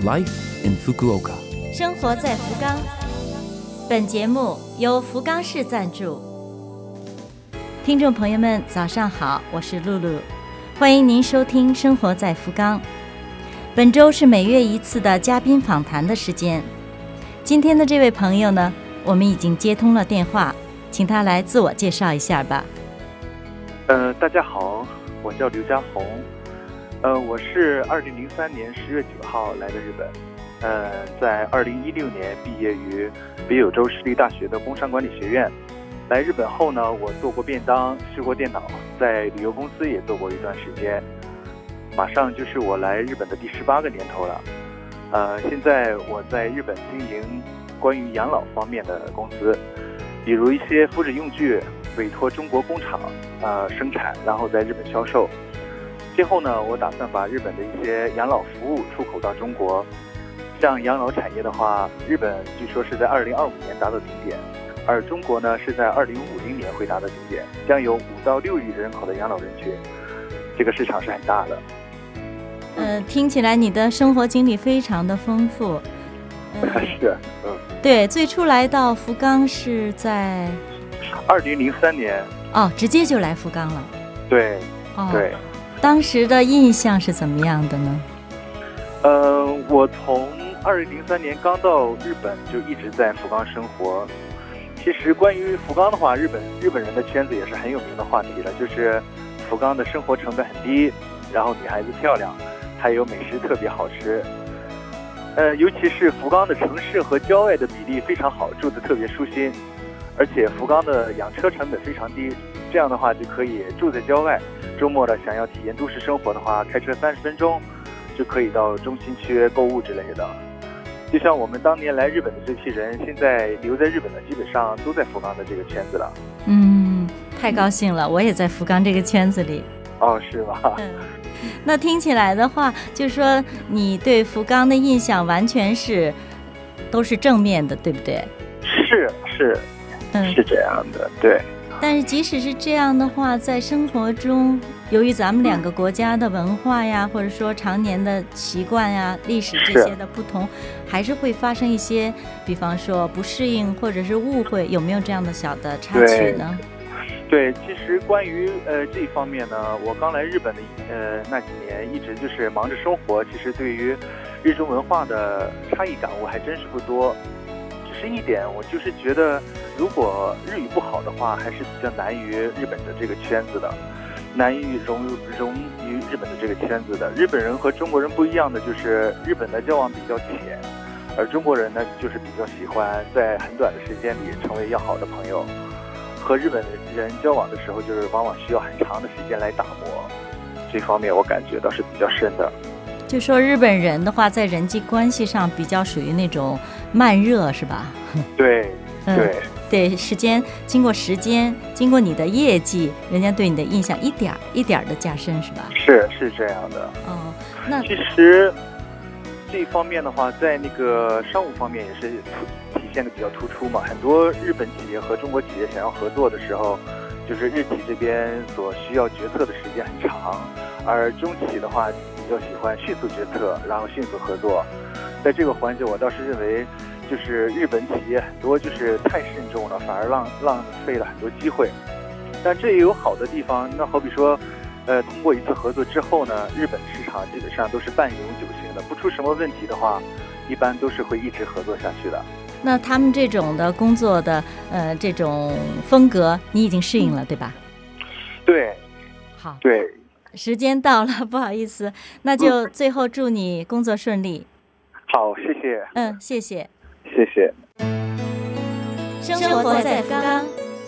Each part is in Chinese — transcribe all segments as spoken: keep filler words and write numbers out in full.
Life in Fukuoka。 生活在福冈。本节目由福冈市赞助。听众朋友们，早上好，我是露露，欢迎您收听《生活在福冈》。本周是每月一次的嘉宾访谈的时间。今天的这位朋友呢，我们已经接通了电话，请他来自我介绍一下吧。 呃，大家好，我叫刘家宏，呃，我是二零零三年十月九号来的日本，呃，在二零一六年毕业于北九州市立大学的工商管理学院。来日本后呢，我做过便当，修过电脑，在旅游公司也做过一段时间。马上就是我来日本的第十八个年头了。呃，现在我在日本经营关于养老方面的公司，比如一些肤质用具委托中国工厂呃生产，然后在日本销售。今后呢，我打算把日本的一些养老服务出口到中国。像养老产业的话，日本据说是在二零二五年达到顶点，而中国呢是在二零五零年会达到顶点，将有五到六亿人口的养老人群，这个市场是很大的。 呃，听起来你的生活经历非常的丰富。 呃、是，嗯， 对，最初来到福冈是在二零零三年。 哦，直接就来福冈了。 对， 哦， 对。 当时的印象是怎么样的呢？ 呃，我从二零零三年刚到日本就一直在福冈生活。其实关于福冈的话，日本日本人的圈子也是很有名的话题了，就是福冈的生活成本很低，然后女孩子漂亮，还有美食特别好吃。呃，尤其是福冈的城市和郊外的比例非常好，住得特别舒心，而且福冈的养车成本非常低，这样的话就可以住在郊外，周末的想要体验都市生活的话，开车三十分钟就可以到中心区购物之类的。就像我们当年来日本的这批人，现在留在日本的基本上都在福冈的这个圈子了。 嗯，太高兴了，我也在福冈这个圈子里。 哦，是吗？ 嗯，那听起来的话，就是说你对福冈的印象完全是都是正面的，对不对？ 是是， 嗯， 是这样的，对。 但是即使是这样的话，在生活中，由于咱们两个国家的文化呀，或者说常年的习惯呀、历史这些的不同，还是会发生一些，比方说不适应或者是误会，有没有这样的小的插曲呢？ 对，其实关于呃这一方面呢，我刚来日本的呃那几年，一直就是忙着生活，其实对于日中文化的差异感悟还真是不多。只是一点，我就是觉得，如果日语不好的话，还是比较难于日本的这个圈子的，难于融融于日本的这个圈子的。日本人和中国人不一样的就是，日本的交往比较浅，而中国人呢，就是比较喜欢在很短的时间里成为要好的朋友。和日本人交往的时候，就是往往需要很长的时间来打磨，这方面我感觉倒是比较深的。 就说日本人的话，在人际关系上比较属于那种慢热，是吧？ 对，对、嗯， 对，时间经过时间，经过你的业绩，人家对你的印象一点一点的加深，是吧？ 是是这样的。 哦，那其实这一方面的话，在那个商务方面也是体现的比较突出嘛。很多日本企业和中国企业想要合作的时候，就是日企这边所需要决策的时间很长，而中企的话比较喜欢迅速决策，然后迅速合作。在这个环节，我倒是认为，就是日本企业很多就是太慎重了，反而浪浪费了很多机会。但这也有好的地方，那好比说，呃，通过一次合作之后呢，日本市场基本上都是半永久型的，不出什么问题的话，一般都是会一直合作下去的。 那他们这种的工作的呃这种风格，你已经适应了，对吧？ 对， 好， 对， 时间到了，不好意思，那就最后祝你工作顺利。 好，谢谢。 嗯，谢谢， 谢谢。 生活在福冈。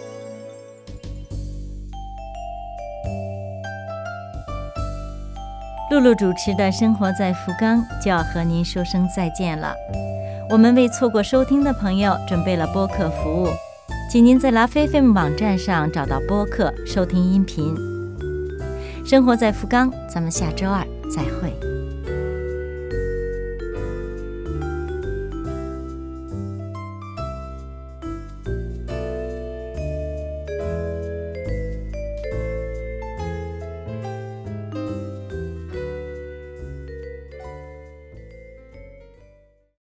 露露主持的《生活在福冈》就要和您说声再见了。我们为错过收听的朋友准备了播客服务，请您在拉菲 F M 网站上找到播客收听音频。生活在福冈，咱们下周二再会。